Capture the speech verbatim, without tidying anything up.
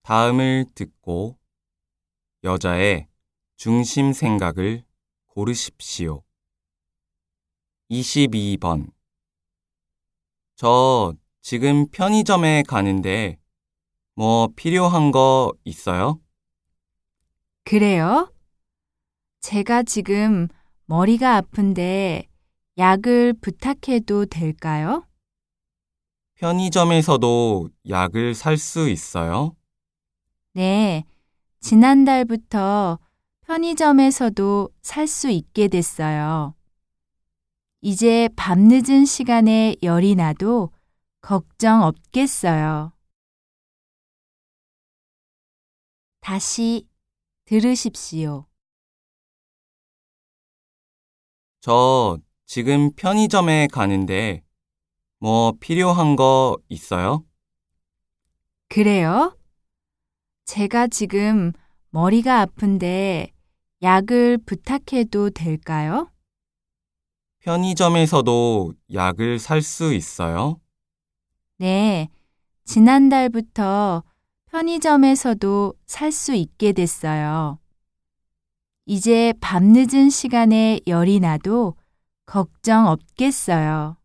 다음을 듣고 여자의 중심 생각을 고르십시오. 이십이 번. 저 지금 편의점에 가는데 뭐 필요한 거 있어요? 그래요? 제가 지금 머리가 아픈데 약을 부탁해도 될까요? 편의점에서도 약을 살 수 있어요? 네, 지난달부터 편의점에서도 살 수 있게 됐어요. 이제 밤늦은 시간에 열이 나도 걱정 없겠어요. 다시 들으십시오. 저 지금 편의점에 가는데 뭐 필요한 거 있어요? 그래요? 제가 지금 머리가 아픈데 약을 부탁해도 될까요? 편의점에서도 약을 살 수 있어요? 네, 지난달부터 편의점에서도 살 수 있게 됐어요. 이제 밤늦은 시간에 열이 나도 걱정 없겠어요.